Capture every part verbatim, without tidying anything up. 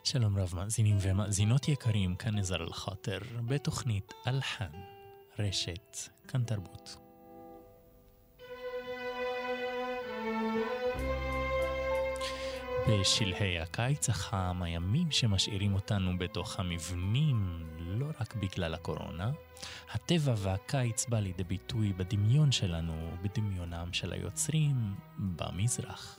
שלום רב מאזינים ומאזינות יקרים, כאן נזר אל-חאטר בתוכנית אלחן, רשת, כאן תרבות. בשלהי הקיץ החם, הימים שמשאירים אותנו בתוך המבנים, לא רק בגלל הקורונה, הטבע והקיץ בא לידי ביטוי בדמיון שלנו, בדמיונם של היוצרים במזרח.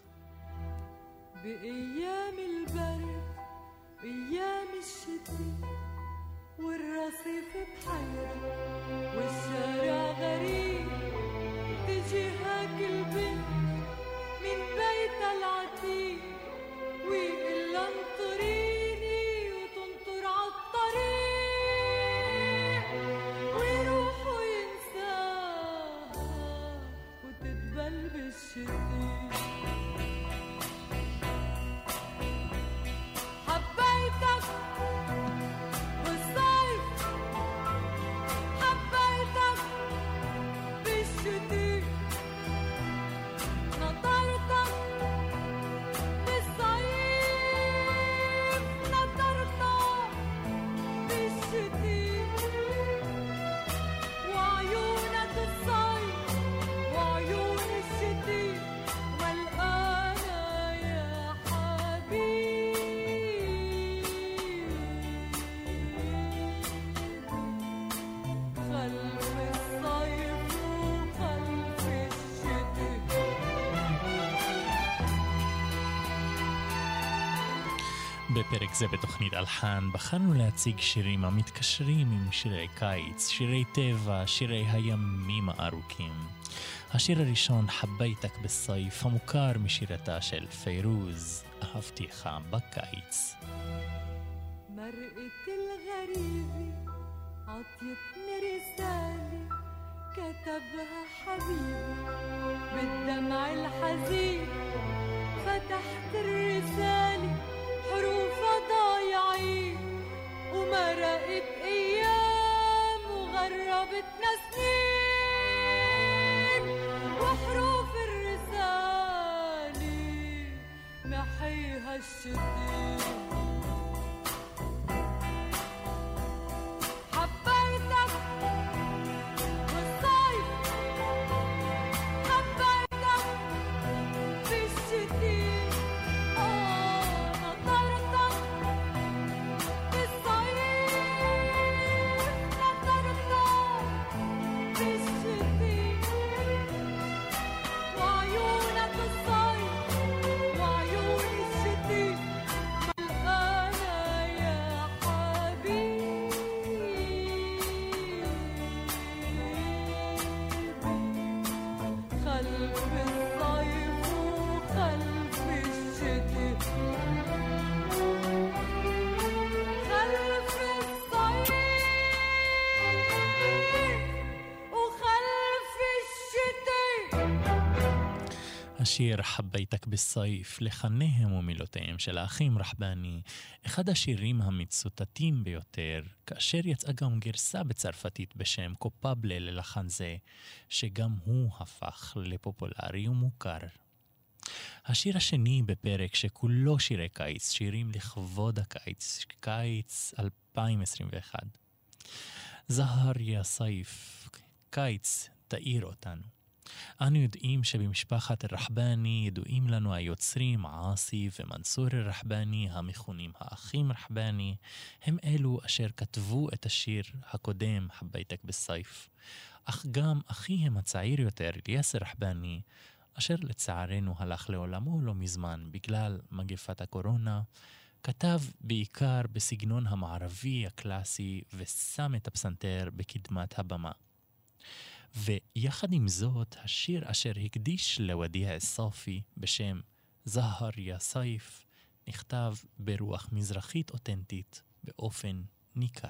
بأيام البرد أيام الشتاء والرصيف بحيرة والشارع غريب تجي هاك البنت من بيت العتيق ويقول انطريني وتنطر عالطريق ويروحوا ينساها وتدبل بالشتاء. בפרק זה בתוכנית אלחן בחרנו להציג שירים המתקשרים עם שירי קיץ, שירי טבע, שירי הימים הארוכים. השיר הראשון, חבייתק בסייף, המוכר משירתה של פיירוז, אהבתיך בקיץ. مرقة الغريبة عطيتني رسالة كتبها حبيبي بالدمع الحزين فتحت الرسالة حروفها ضايعين ومرقت أيام وغربتنا سنين وحروف الرسالة نحيها الشتين. حبيتك بالصيف حبيتك بالشتين השיר חבייתק בסייף, לחניהם ומילותיהם של האחים רחבני, אחד השירים המצוטטים ביותר, כאשר יצאה גם גרסה בצרפתית בשם קופבלה ללחן זה, שגם הוא הפך לפופולרי ומוכר. השיר השני בפרק שכולו שירי קיץ, שירים לכבוד הקיץ, קיץ אלפיים עשרים ואחת. זהר יא סייף, קיץ תאיר אותנו. אנו יודעים שבמשפחת הרחבני ידועים לנו היוצרים עאסי ומנסור הרחבני, המכונים האחים רחבני, הם אלו אשר כתבו את השיר הקודם חבייתק בסייף. אך גם אחיהם הצעיר יותר, יאסר רחבני, אשר לצערנו הלך לעולמו לא מזמן בגלל מגפת הקורונה, כתב בעיקר בסגנון המערבי הקלאסי ושם את הפסנתר בקדמת הבמה. ויחד עם זאת, השיר אשר הקדיש לודיע אסופי בשם זהר יא סייף נכתב ברוח מזרחית אותנטית באופן ניכר.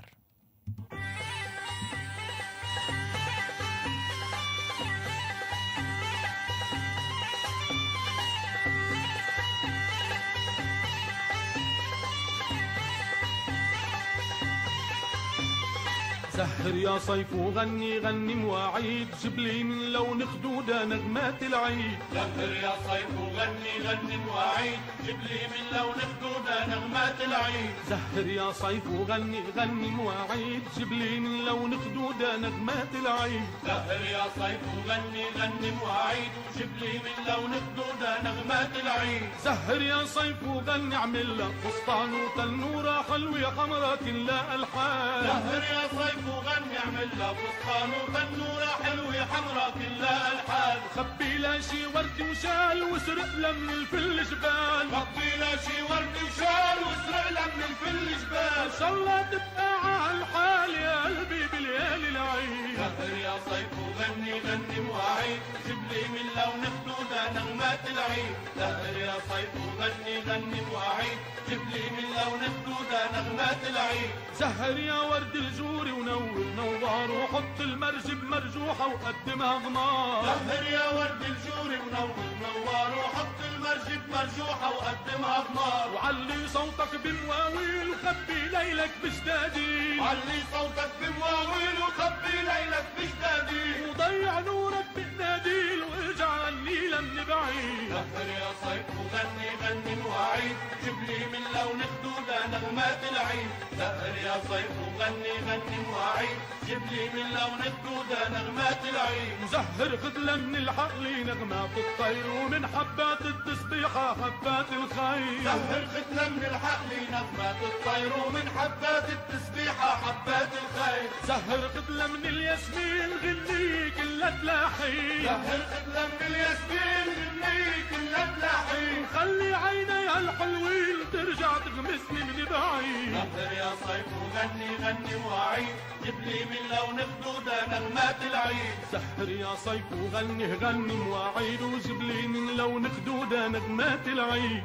سهر يا صيف وغني غني مواعيد، جبلي من لون خدودة نغمات العيد. سهر يا صيف وغني غني مواعيد، جبلي من لون خدودة نغمات العيد. سهر يا صيف وغني غني مواعيد، جبلي من لون خدودة نغمات العيد. سهر يا صيف وغني غني مواعيد، جبلي من لون خدودة نغمات العيد. سهر يا صيف وغني عمل لك فستان وتنورة حلوة حمرا كلها ألحان. سهر يا صيف وغني عمل لها فستان وتنورة حلوة حمرا كلها ألحان. خبي لا شي ورد وشال واسرق لها من الفل جبال. خبي لا شي ورد وشال واسرق لها من الفل جبال. إن شاء الله تبقى عالحال يا قلبي بليالي العيد. سهر يا صيف وغني غني مواعيد، جبلي من لون خدودة نغمات العيد. سهر يا صيف وغني غني مواعيد، جبلي من لون خدودة نغمات العيد. سهر يا ورد الجوري ونور نوار، وحط المرج بمرجوحة وقدمها غمار. سهر يا ورد الجوري ونور نوار، وحط المرج بمرجوحة وقدمها غمار. وعلي صوتك بمواويل وخبي ليلك بجدادي. علي صوتك بمواويل وخبي ليلك بجدادي. وضيع نورك بقناديل واجعل النيلة من بعيد. سهر يا صيف وغني غني مواعيد، جبلي من لون خدودة نغمات العيد. سهر يا صيف وغني غني مواعيد، جبلي من لون خدودة نغمات العيد. مزهر خدلة من الحقل نغمات الطير، ومن حبات التسبيحة حبات الخير. سهر خدلة من الحقل نغمات الطير، ومن حبات التسبيحة حبات الخير. سهر خدلة من الياسمين غني كلها تلاحي. سهر خدلة من الياسمين غني كلها تلاحي. خلي عيني الحلوين ترجع تغمسني من بعيد. سهر يا صيف وغني غني مواعيد، جبلي من لون خدودة نغمات العيد. سهر يا صيف وغني غني מועעיד וזבלי מן لون خدودة نغمات العيد.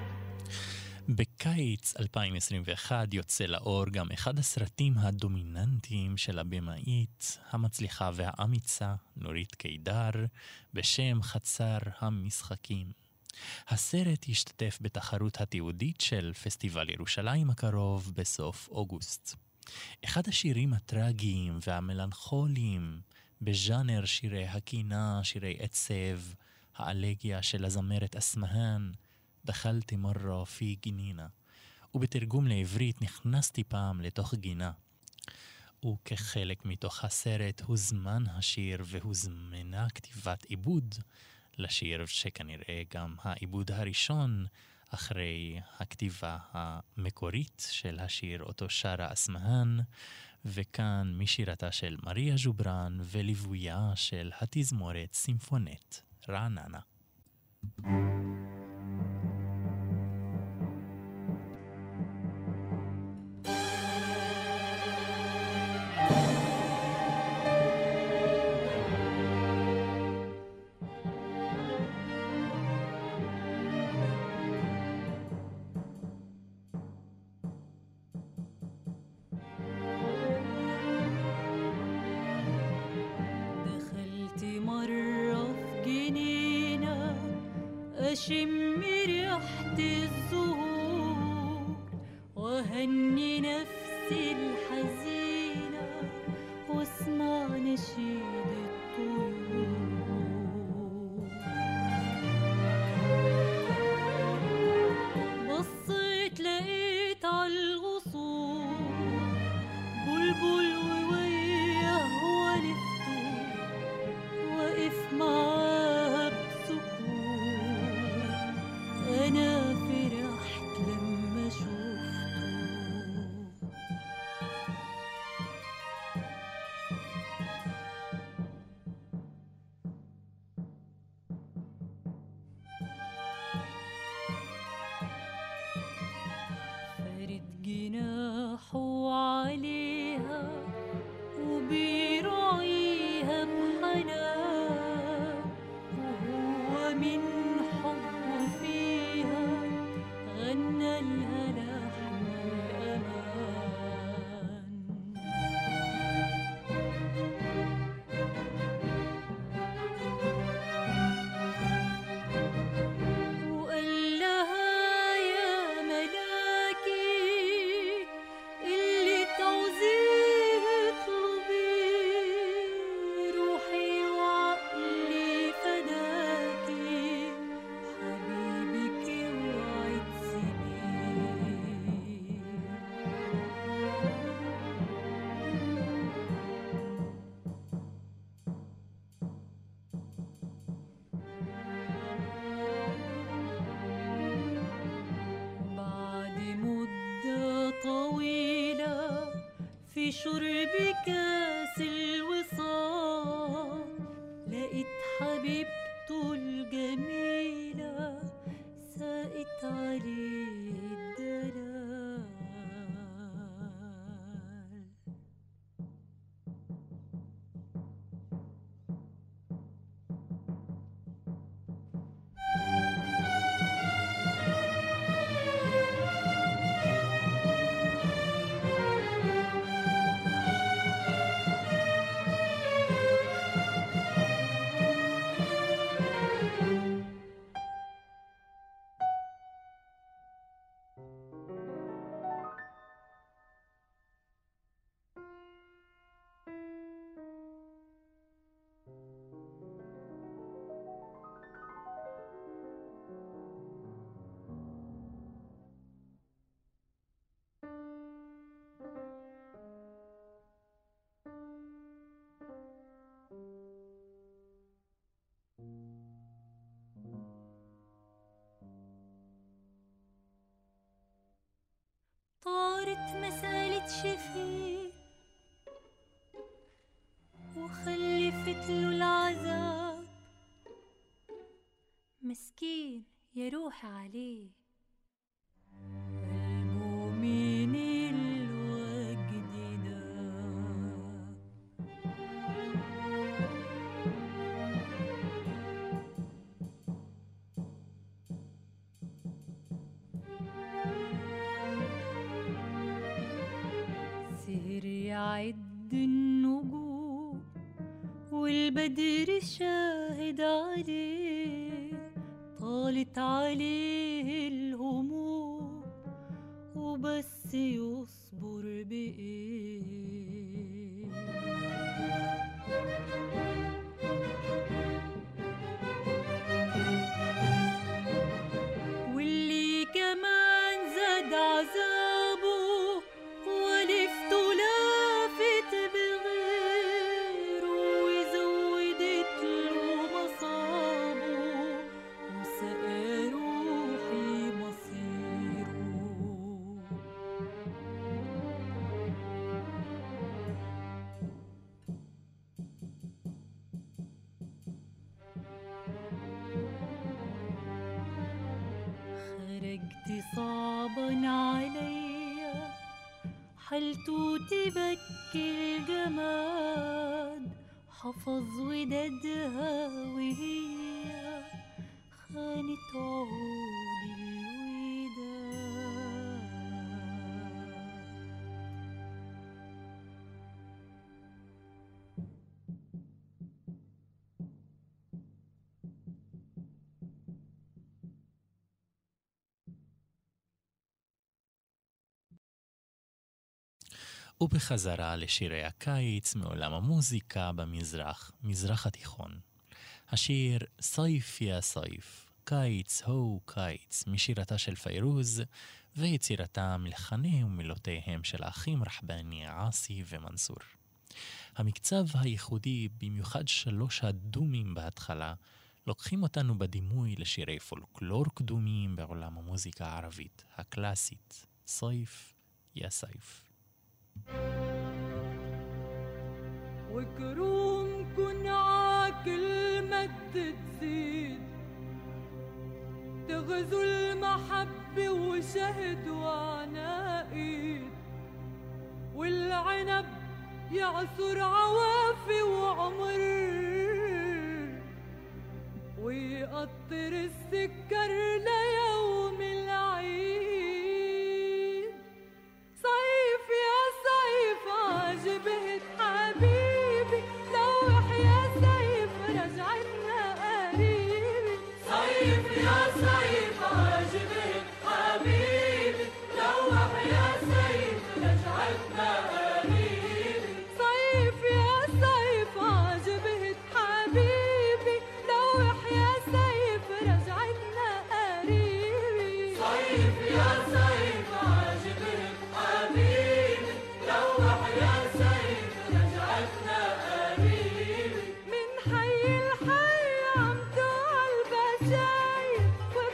בקיץ אלפיים עשרים ואחת יוצא לאור גם אחד הסרטים הדומיננטיים של הבמאית המצליחה והאמיצה נורית קידר בשם חצר המשחקים. הסרט השתתף בתחרות התיעודית של פסטיבל ירושלים הקרוב בסוף אוגוסט. אחד השירים הטרגיים והמלנכוליים בז'אנר שירי הקינה, שירי עצב, האלגיה של הזמרת אסמהאן, דחלתי מרה פי גינינה, ובתרגום לעברית נכנסתי פעם לתוך גינה. וכחלק מתוך הסרט הוזמן השיר והוזמנה כתיבת עיבוד לשיר, שכנראה גם העיבוד הראשון אחרי הכתיבה המקורית של השיר אותו שרה אסמהאן, וכאן משירתה של מריה ג'וברן וליוויה של התזמורת סימפונית רעננה. أشم ريحة الزهور وهني نفسي الحزينة واسمع نشيد الطيور. بصيت لقيت عالغصون بلبل ووياه ولفته وقف معاه بسكون. أنا فرحت لما شفته. فارد جناحه عليها وبيراعيها بحنان، وهو من حبه فيها غنى لها لحن الأمان. وقال لها يا ملاكي اللي تعوزيه اطلبي شرب كاس الوصال لقيت حبيبته الجميلة ساقت عليه الدلال. طارت مسألة شفيق وخلفت له العذاب، مسكين يا روح عليه المؤمن الوجد ناب. سهر يعد النجوم والبدر شاهد عليه، طالت عليه الهموم وبس يصبر بإيه. واللي كمان زاد عذابه ولفته لافت بغيره وزودت له مصابه وسقى روحي مصيره. خرجت صعبا عليا حالته تبكي الجماد، حفظ ودادها وهي خانت عود الوداد. ובחזרה לשירי הקיץ מעולם המוזיקה במזרח, מזרח התיכון. השיר סייף יא סייף, קיץ הו קיץ, משירתה של פיירוז, ויצירתם לחני ומילותיהם של האחים רחבני, עאסי ומנסור. המקצב הייחודי, במיוחד שלוש הדומים בהתחלה, לוקחים אותנו בדימוי לשירי פולקלור קדומיים בעולם המוזיקה הערבית, הקלאסית, סייף יא סייף. وكرومكن عاكل مد تزيد تغزو المحبة وشهد وعناقيد، والعنب يعصر عوافي وعمر ويقطر السكر ليوم العيد. صيف يا صيف عجبت حبيبي لوح يا سيف رجعتنا قريبي. صيف يا صيف عجبت حبيبي لوح يا سيف رجعتنا قريبي. صيف يا صيف عجبت حبيبي لوح يا سيف رجعتنا قريبي. صيف يا صيف عجبت حبيبي لوح يا سيف رجعتنا قريبي. من حي الحي عم توع البشاير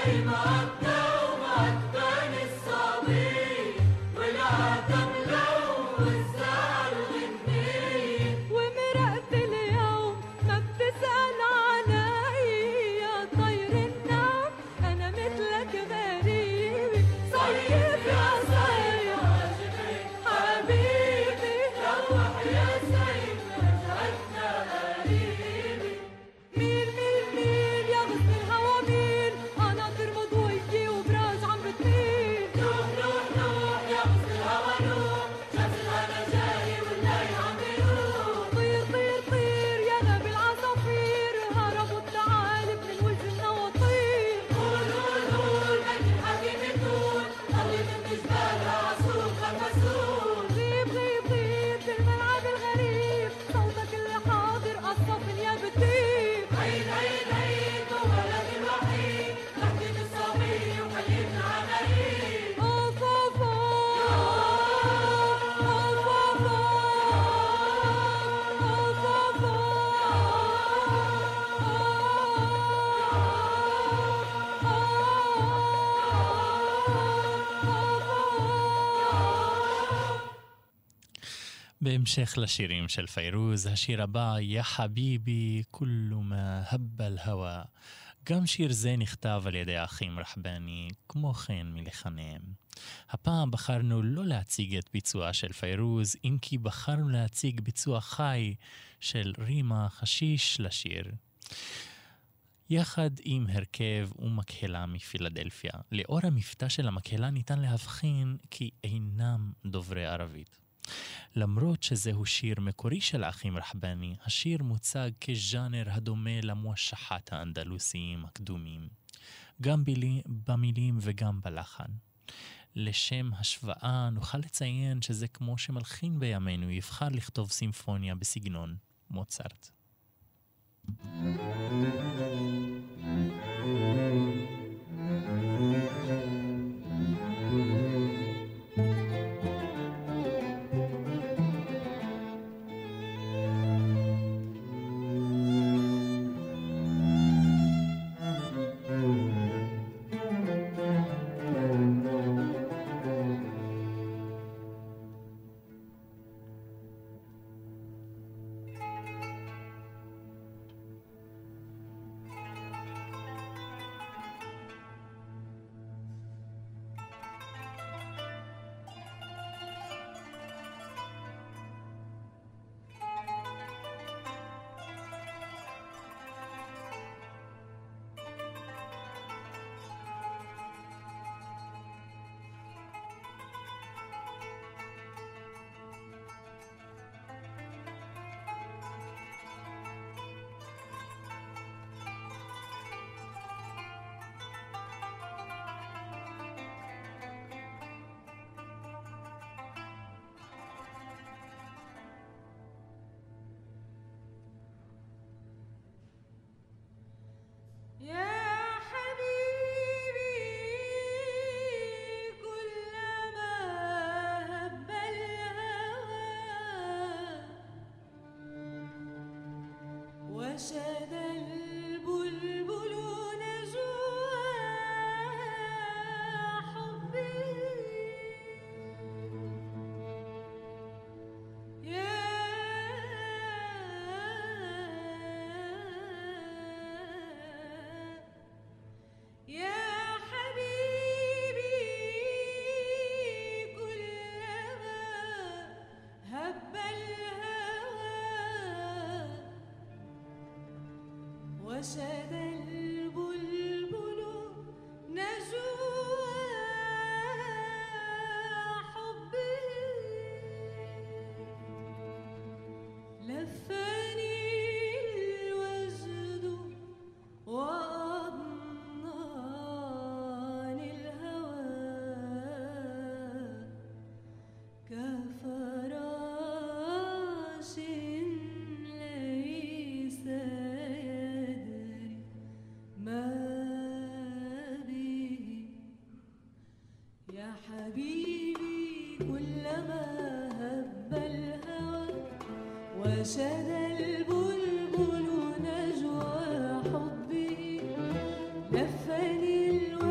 בהמשך לשירים של פיירוז, השיר הבא, יא חביבי, כולו מה הב אל-הווה. גם שיר זה נכתב על ידי האחים רחבני, כמו כן מלחניהם. הפעם בחרנו לא להציג את ביצועה של פיירוז, אם כי בחרנו להציג ביצוע חי של רימה חשיש לשיר. יחד עם הרכב ומקהלה מפילדלפיה. לאור המבטא של המקהלה ניתן להבחין כי אינם דוברי ערבית. למרות שזהו שיר מקורי של האחים רחבני, השיר מוצג כז'אנר הדומה למושחת האנדלוסיים הקדומים, גם במילים וגם בלחן. לשם השוואה נוכל לציין שזה כמו שמלחין בימינו יבחר לכתוב סימפוניה בסגנון מוצרט. وشد البلبل نجوى حبي يا يا حبيبي كلما هب الهوى وشد البلبل نجوى حبي لفني الوجد وأضناني الهوى كفراش ليس ما به يا حبيبي كلما هب الهوى وشد البلبل نجوى حبه لفني الوجد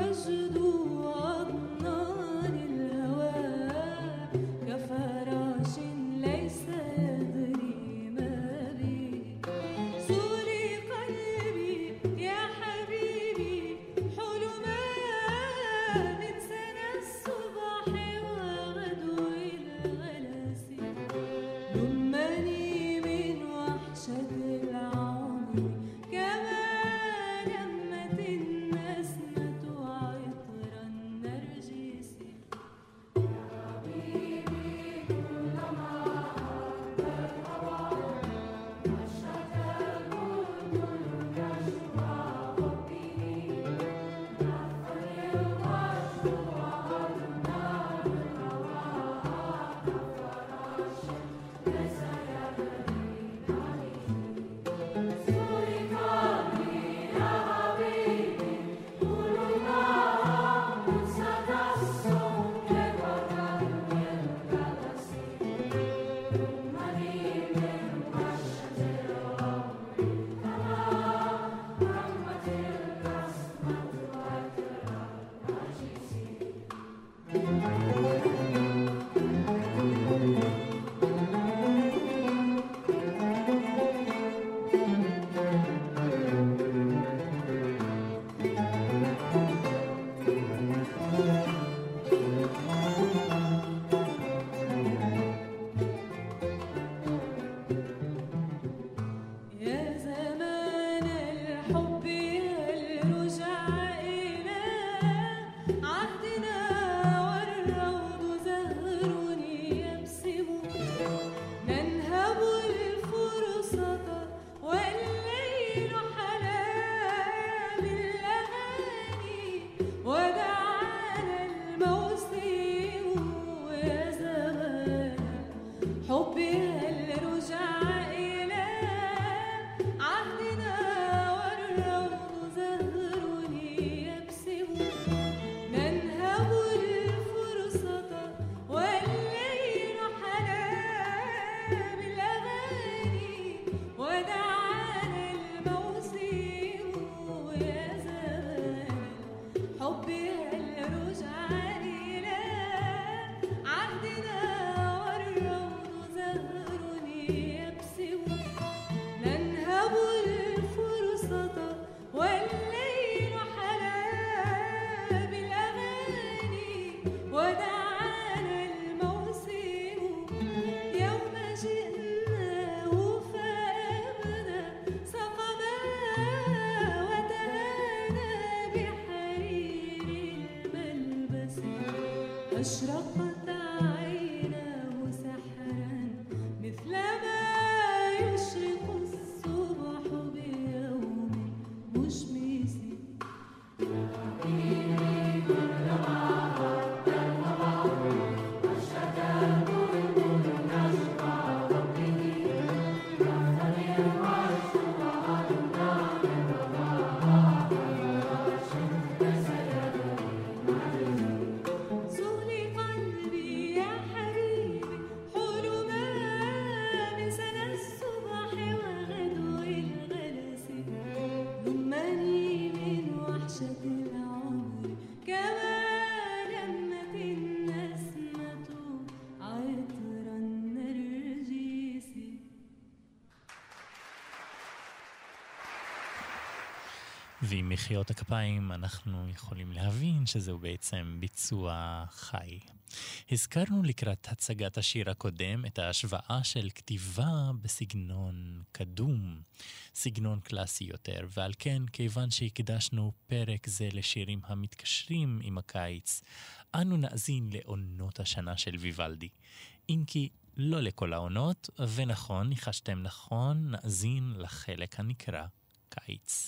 أشرقت عيناه سحرا مثل ما يشرق الصبح بيوم مشمس. ועם מחיאות הכפיים אנחנו יכולים להבין שזהו בעצם ביצוע חי. הזכרנו לקראת הצגת השיר הקודם את ההשוואה של כתיבה בסגנון קדום, סגנון קלאסי יותר, ועל כן כיוון שהקדשנו פרק זה לשירים המתקשרים עם הקיץ, אנו נאזין לעונות השנה של ויוולדי. אם כי לא לכל העונות, ונכון, ניחשתם נכון, נאזין לחלק הנקרא קיץ.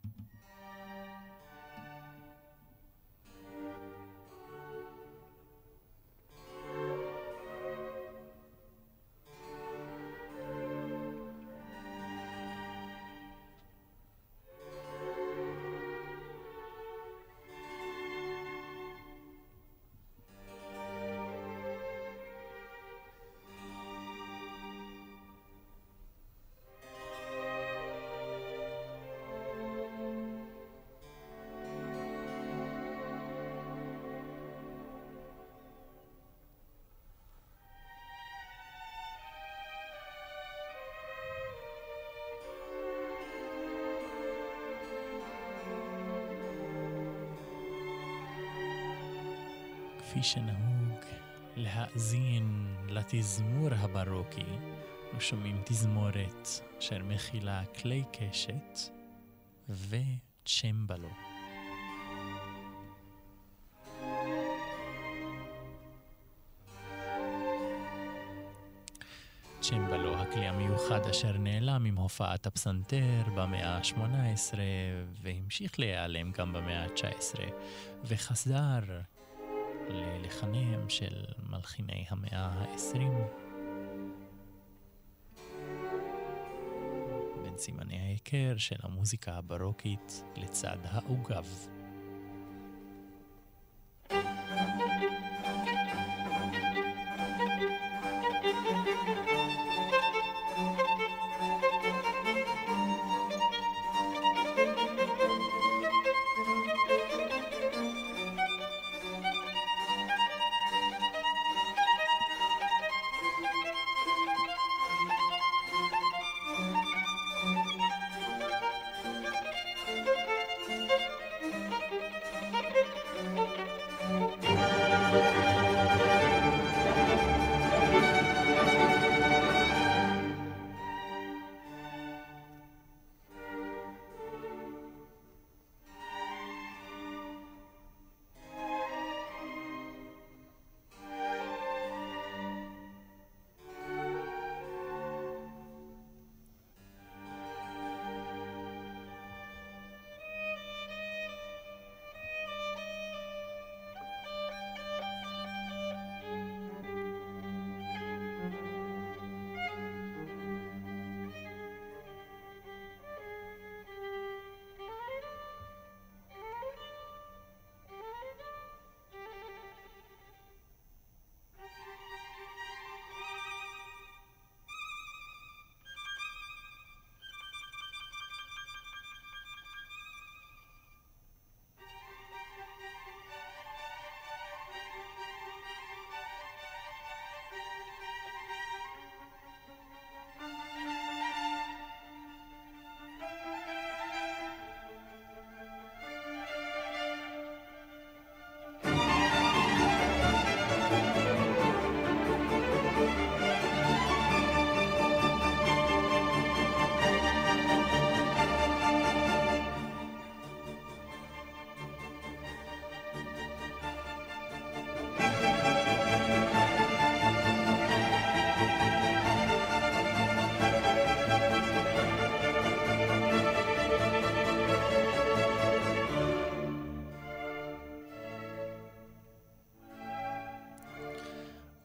כפי שנהוג להאזין לתזמור הברוקי, ושומעים תזמורת אשר מכילה כלי קשת וצ'מבלו. צ'מבלו, הכלי המיוחד אשר נעלם עם הופעת הפסנתר במאה ה-שמונה עשרה והמשיך להיעלם גם במאה ה-תשע עשרה וחזר ללחניהם של מלחיני המאה ה-עשרים. בין סימני ההיכר של המוזיקה הברוקית לצד העוגב.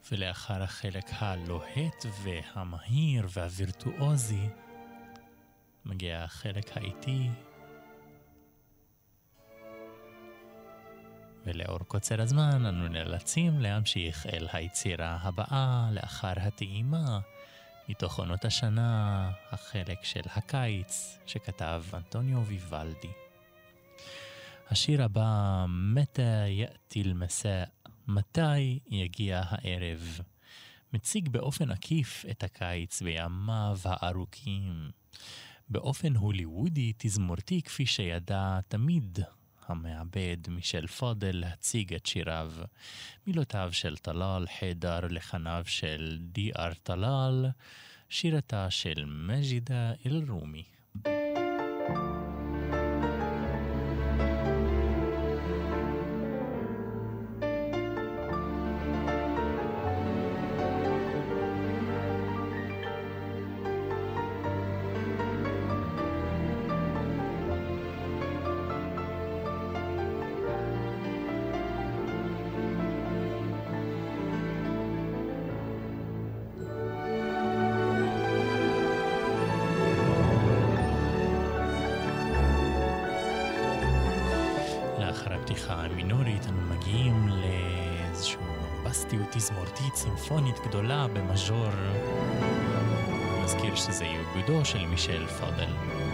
ולאחר החלק הלוהט והמהיר והווירטואוזי מגיע החלק האיטי, ולאור קוצר הזמן אנו נאלצים להמשיך אל היצירה הבאה לאחר הטעימה מתוך עונות השנה, החלק של הקיץ שכתב אנטוניו ויוולדי. השיר הבא, מתי יאתי אל-מסא', מתי יגיע הערב, מציג באופן עקיף את הקיץ בימיו הארוכים, באופן הוליוודי תזמורתי כפי שידע תמיד המעבד מישל פאדל להציג את שיריו, מילותיו של טלאל חיידר, לחניו של די אר טלאל, שירתה של מג'ידה אל-רומי. המינורית אנו מגיעים לאיזשהו בומבסטיות תזמורתית סימפונית גדולה במז'ור. נזכיר שזה עיבודו של מישל פאדל.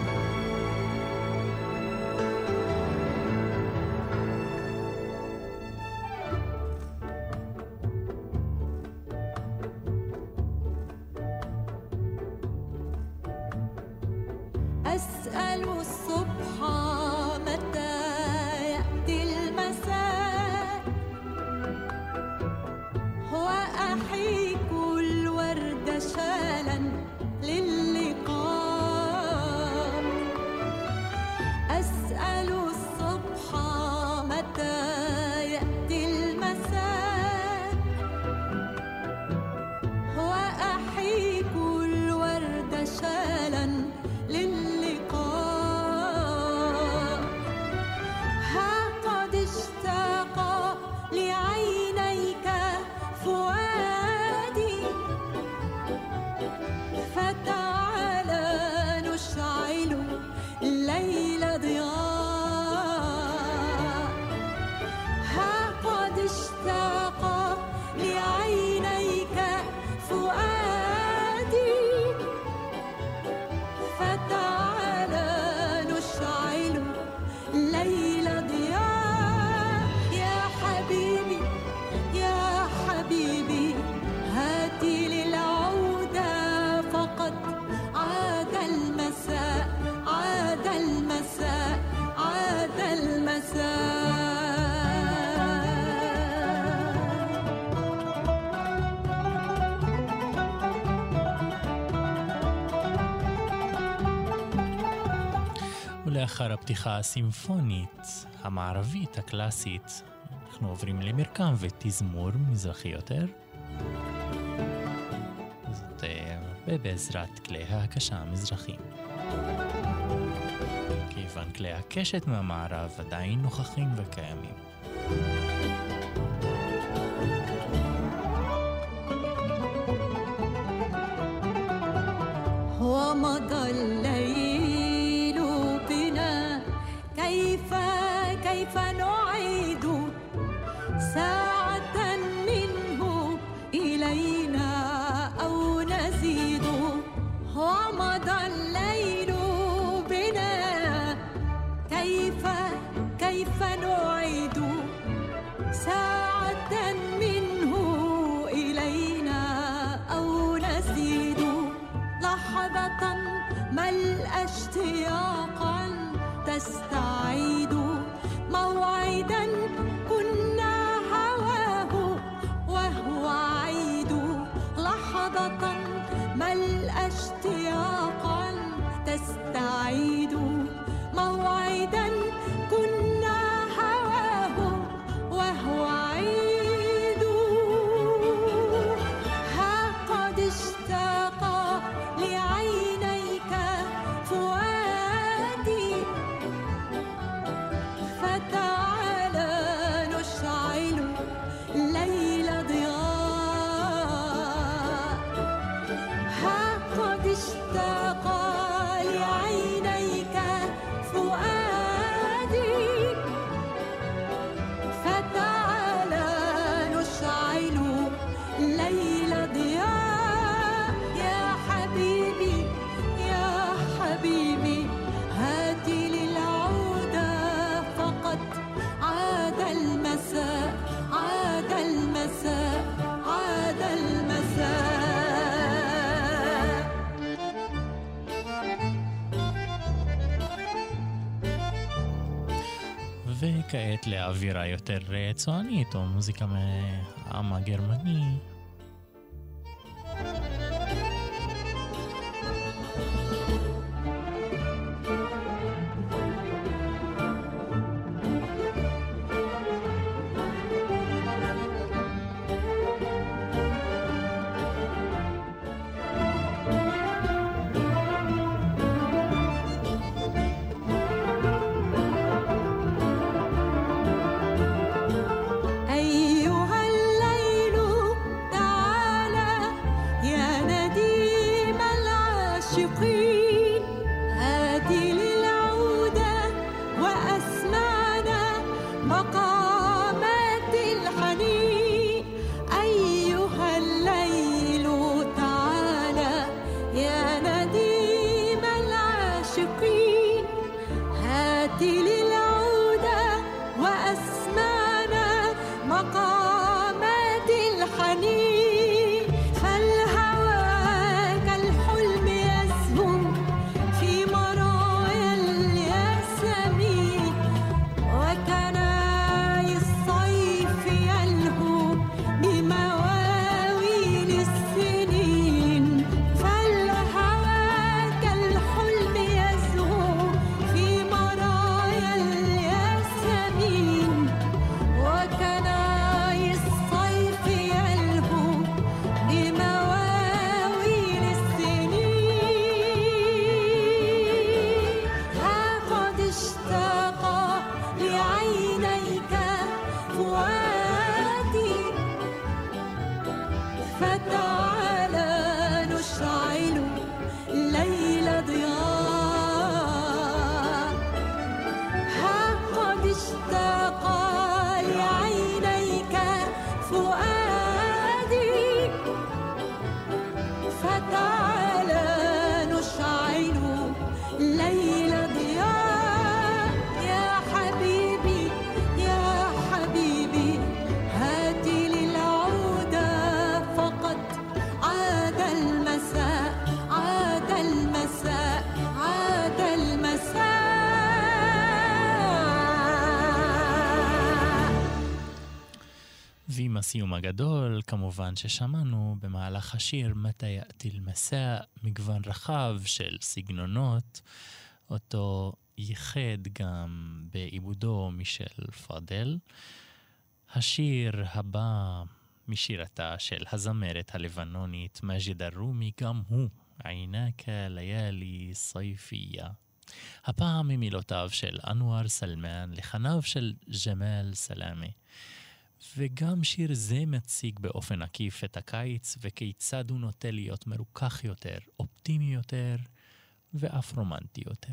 לאחר הפתיחה הסימפונית המערבית הקלאסית, אנחנו עוברים למרקם ותזמור מזרחי יותר. זאת בעזרת כלי ההקשה המזרחים. כיוון כלי הקשת מהמערב עדיין נוכחים וקיימים. ومضى الليل بنا كيف كيف نعيد ساعة منه إلينا أو نزيد ومضى الليل بنا كيف كيف نعيد ساعة منه إلينا أو نزيد لحظة ملأ اشتياقا تستعيد موعدا كنا هواه وهو عيد لحظة ملأ اشتياقا تستعيد موعدا كنا هواه وهو عيد ها قد اشتاق لعينيك فؤادي וכעת לאווירה יותר צוענית או מוזיקה מהעם הגרמני. ועם הסיום הגדול, כמובן ששמענו במהלך השיר מתי יאתי אל-מסע, מגוון רחב של סגנונות, אותו ייחד גם בעיבודו מישל פאדל. השיר הבא משירתה של הזמרת הלבנונית מג'ד אל-רומי, גם הוא עינק ליאלי סייפייה. הפעם ממילותיו של אנואר סלמן לחניו של ג'מאל סלאמה. וגם שיר זה מציג באופן עקיף את הקיץ וכיצד הוא נוטה להיות מרוכך יותר, אופטימי יותר ואף רומנטי יותר.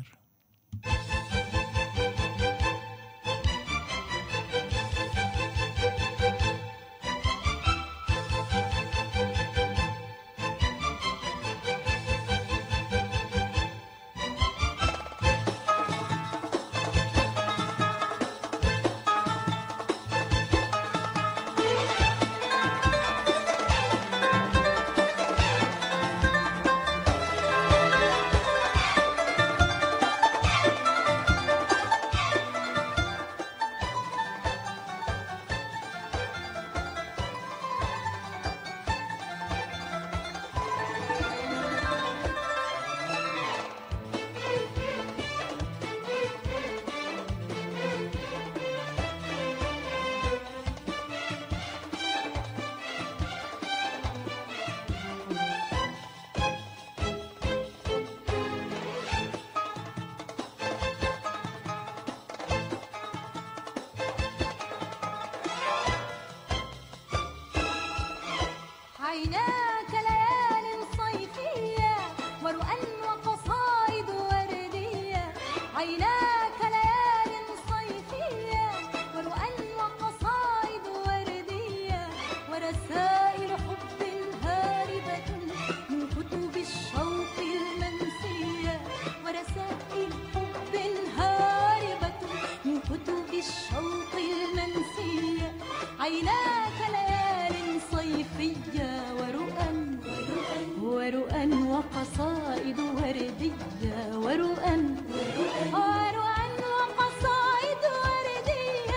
عيناك ليال صيفية ورؤى وقصائد وردية، عيناك ليال صيفية ورؤى وقصائد وردية، ورسائل حب هاربة من كتب الشوق المنسية، ورسائل حب هاربة من كتب الشوق المنسية، عيناك ليال صيفية ورؤى ورؤى وقصائد وردية، ورؤى ورؤى وقصائد وردية،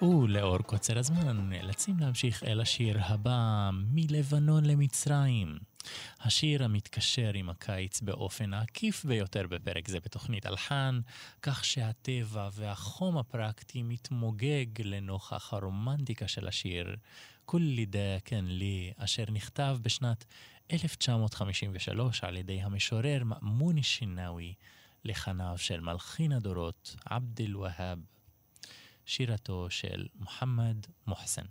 ולאור קוצר הזמן נאלצים להמשיך אל השיר הבא, מלבנון למצרים. השיר המתקשר עם הקיץ באופן העקיף ביותר בפרק זה בתוכנית אלחן, כך שהטבע והחום הפרקטי מתמוגג לנוכח הרומנטיקה של השיר כולי דה כן לי, אשר נכתב בשנת אלף תשע מאות חמישים ושלוש על ידי המשורר מאמון א-שנאוי לחניו של מלחין הדורות עבד אל-והאב, שירתו של מוחמד מוחסן.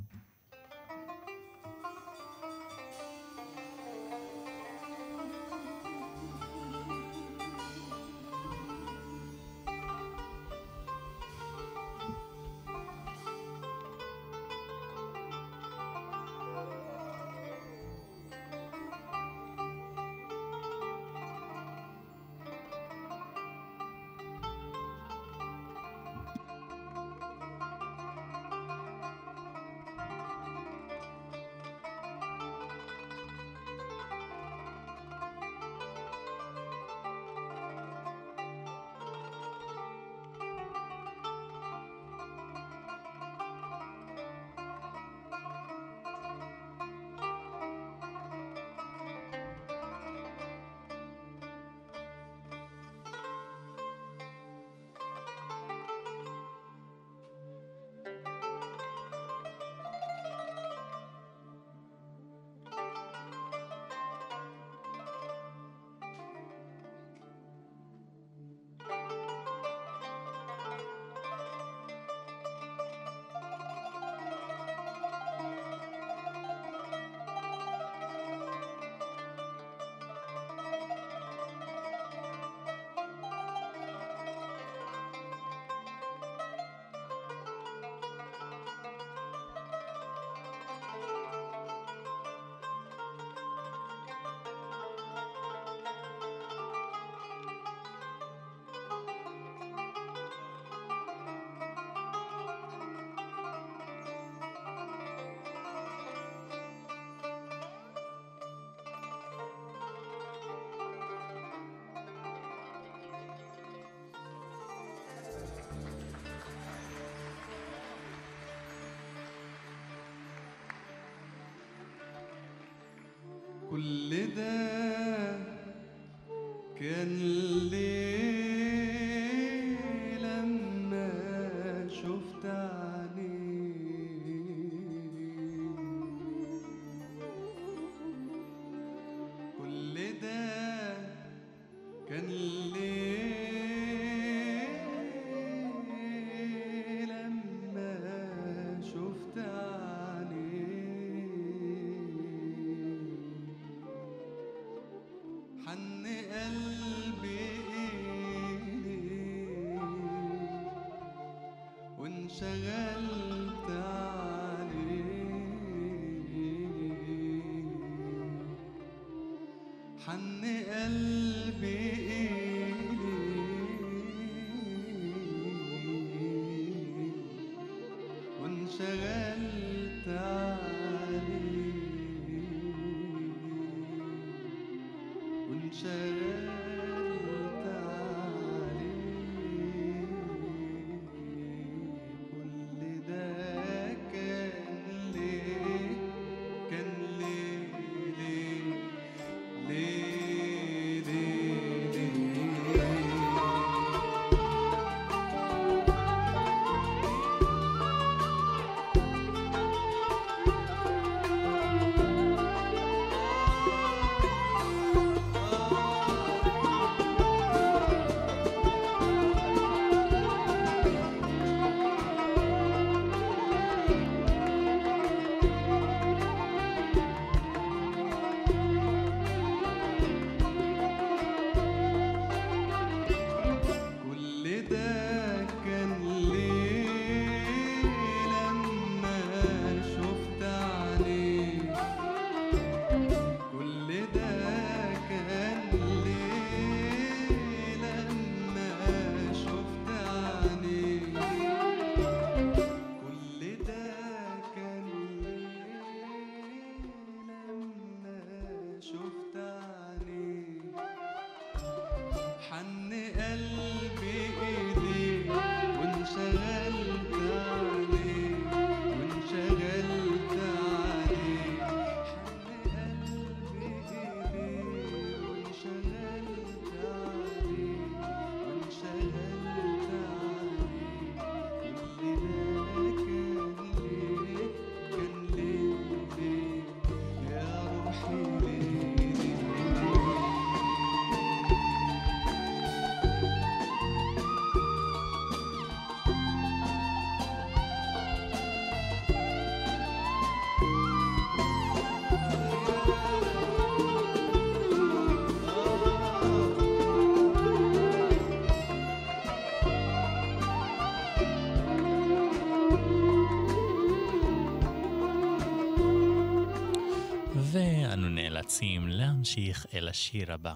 كل ده كان ليه لما شفت عينيه، كل ده كان ليه لما شفت حن قلبي إليه وانشغلت عليه، حن قلبي إليه وانشغلت عليه، وانشغلت عليه. كل ده كان ليه، كان ليه ليه ليه ليه ليه آه נמשיך אל השיר הבא.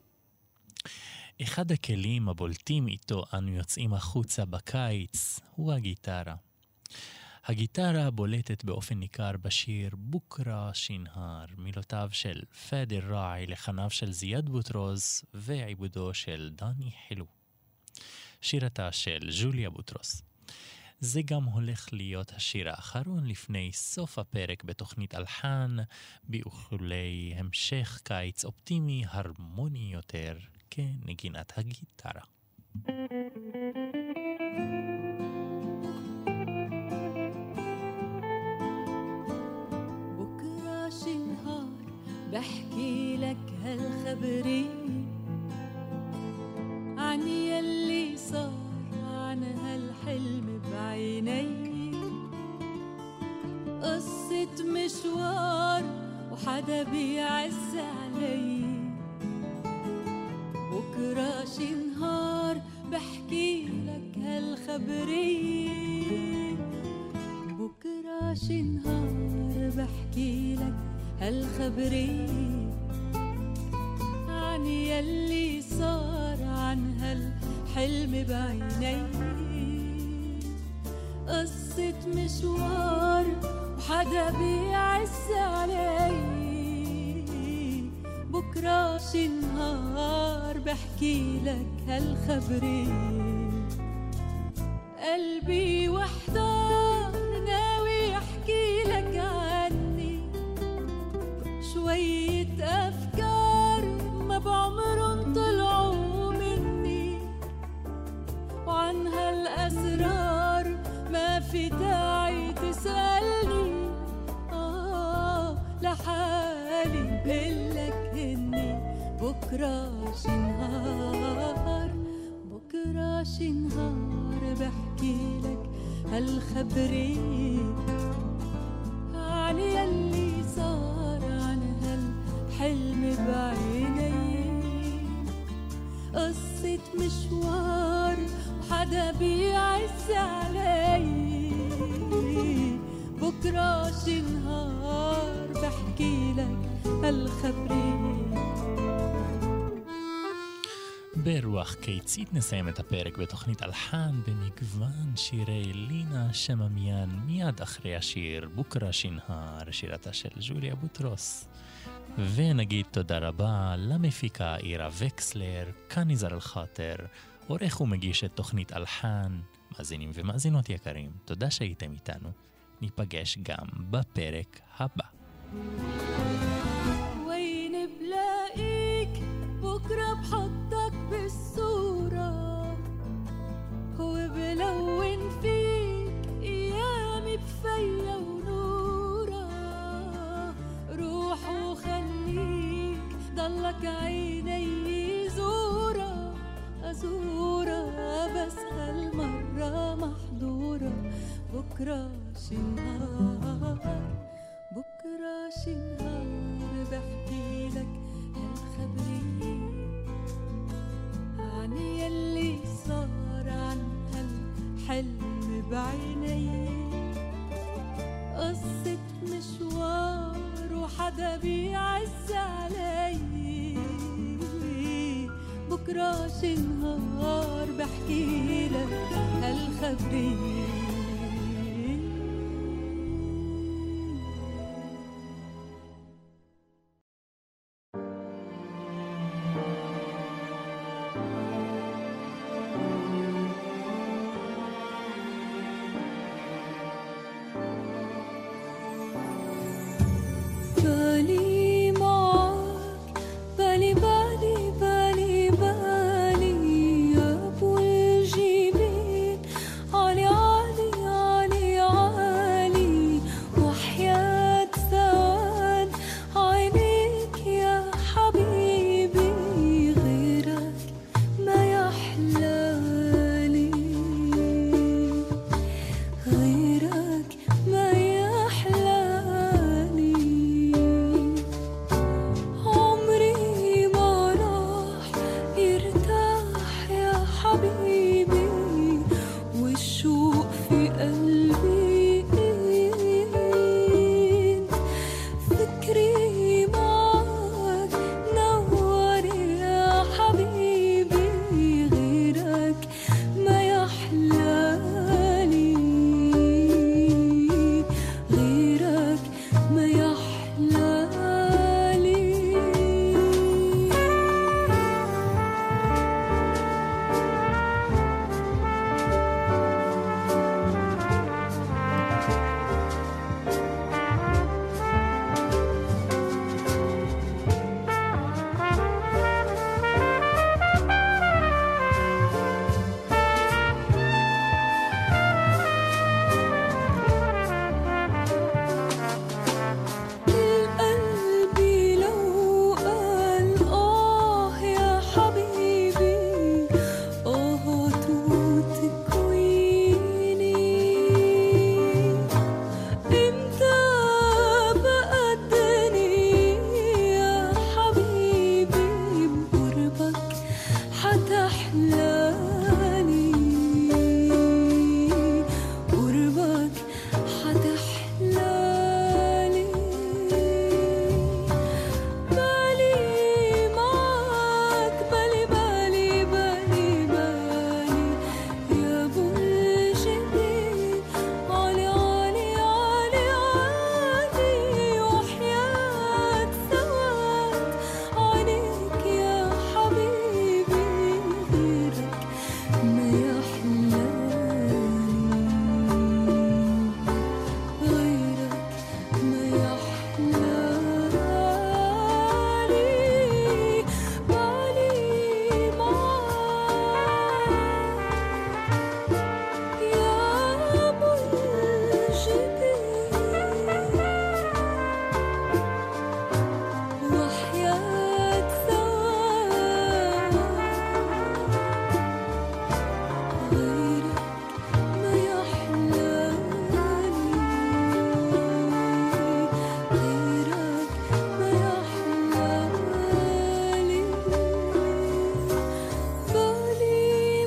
אחד הכלים הבולטים איתו אנו יוצאים החוצה בקיץ הוא הגיטרה. הגיטרה בולטת באופן ניכר בשיר בוקרה שינהר, מילותיו של פאדי ראעי, לחניו של זיאד בוטרוס ועיבודו של דני חילו. שירתה של ג'וליה בוטרוס. זה גם הולך להיות השיר האחרון לפני סוף הפרק בתוכנית אלחן, באיחולי המשך קיץ אופטימי הרמוני יותר כנגינת הגיטרה. بكرة شنهار بحكي لك هالخبري عن يلي صار عن هالحلم بعيني قصة مشوار وحدا بيعز علي بكرة شي نهار بحكي لك هالخبرية بكرة شي نهار بحكي لك هالخبرية عن يلي صار عن هالحلم بعيني قصة مشوار وحدا بيعز علي بكرة شي نهار بحكي لك هالخبرية قلبي وحدار ناوي احكي لك عني شوية أفكار ما بعمرن طلعوا مني وعن هالأسرار ما في داعي تسألني آه لحالي بقلك هني بكرة شي نهار بكرة شي نهار بحكي لك هالخبرية عن يلي صار عن هالحلم بعيني قصة مشوار وحدا بيعز علي بكرة شي نهار بحكي لك هالخبرية. ברוח קיצית נסיים את הפרק בתוכנית אלחן במגוון שירי לינה שממיין מיד אחרי השיר בוקרה שינהר, שירתה של ג'וליה בוטרוס. ונגיד תודה רבה למפיקה אירה וקסלר, כאן נזר אל-חאטר, עורך ומגיש את תוכנית אלחן. מאזינים ומאזינות יקרים, תודה שהייתם איתנו. ניפגש גם בפרק הבא. وين بلاقيك بكرة بحطك بالصورة وبلون فيك أيامي بفيا ونورة روح وخليك ضلك عيني زورة أزورة بس هالمرة محضورة بكرة شي نهار بكرة شي نهار بحكي لك هالخبرية عن يلي صار عن هالحلم بعيني قصة مشوار وحدا بيعز علي بكرة شي نهار بحكي لك هالخبرية. بالي معاك بالي بالي بالي بالي يا ابو الجبين علي علي أحلالي قربك حتحلالي بالي معك بالي بالي بالي بالي يا أبو الجبين عالي عالي عالي عالي وحياة سواد عليك يا حبيبي غيرك ما يحلالي غيرك ما يحلالي بالي معك يا أبو الجبين وحياة سواد غيرك ما يحلالي غيرك ما يحلالي بالي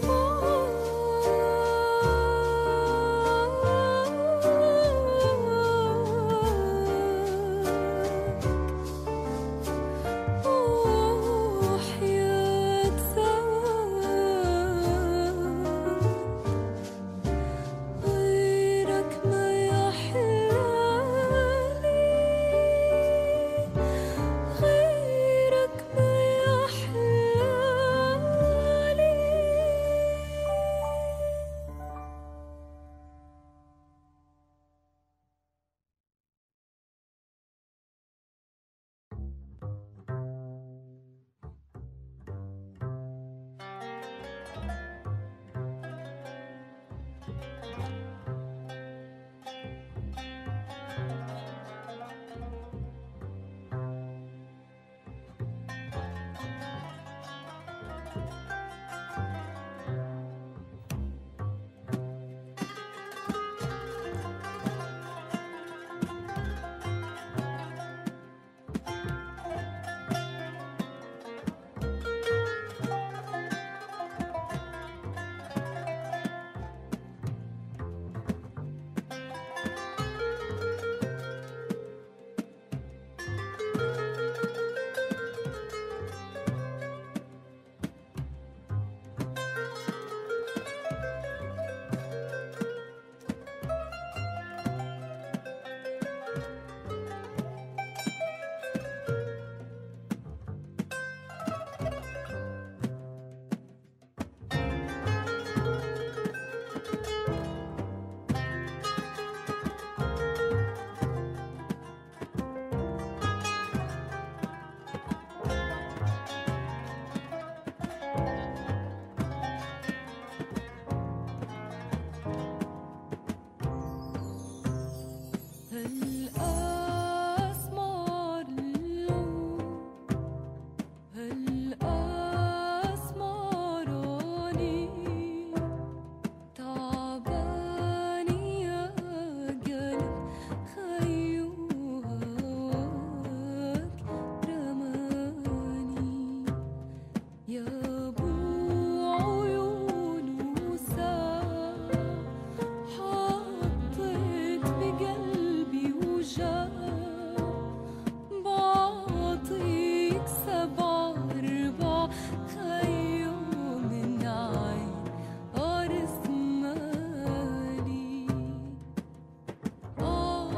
معك وحياة سواد غيرك ما يحلالي غيرك ما يحلالي هالأسمار اللون هالأسمراني تعباني يا قلب خيو هواك رماني يا أبو عيون وسام حطيت بقلبي وجع بعطيك سبع أربع خيو من عين قرص مالي آه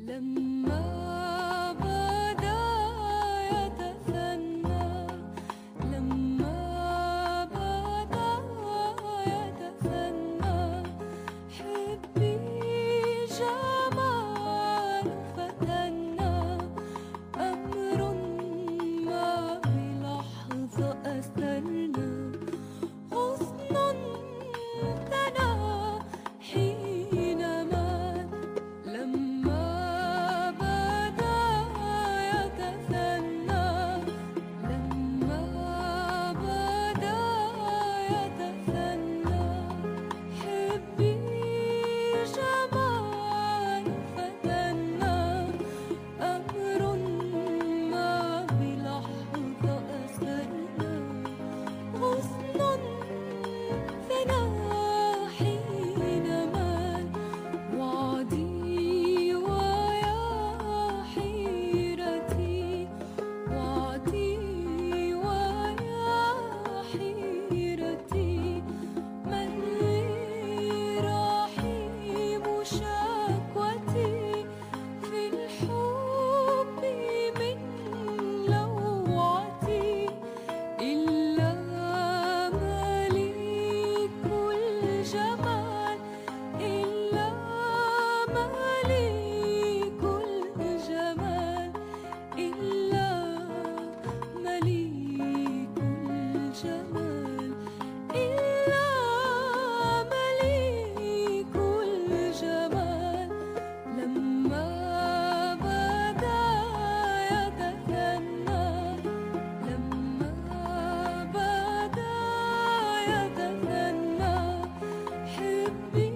لما بدا يتثنى لما بدا يتثنى حبي جمال فتنا أمر ما بلحظة أثرنا غصن ثنا حينما لما بدا يتثنى لما بدا يتثنى حبي جمال فتنا أمر ما بلحظة أثرنا غصن ثنا حينما وعدي ويا حيرتي وعدي ويا حيرتي من لي رحيم شكوتي في الحب من لوعتي إلا مليك الجمال إلا مليك الجمال إلا مليك الجمال إلا مليك الجمال لما بدا يتثنى لما بدا يتثنى حبي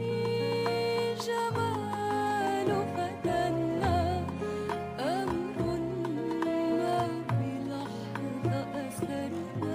جمال فتنا أمر ما بلحظة أثرنا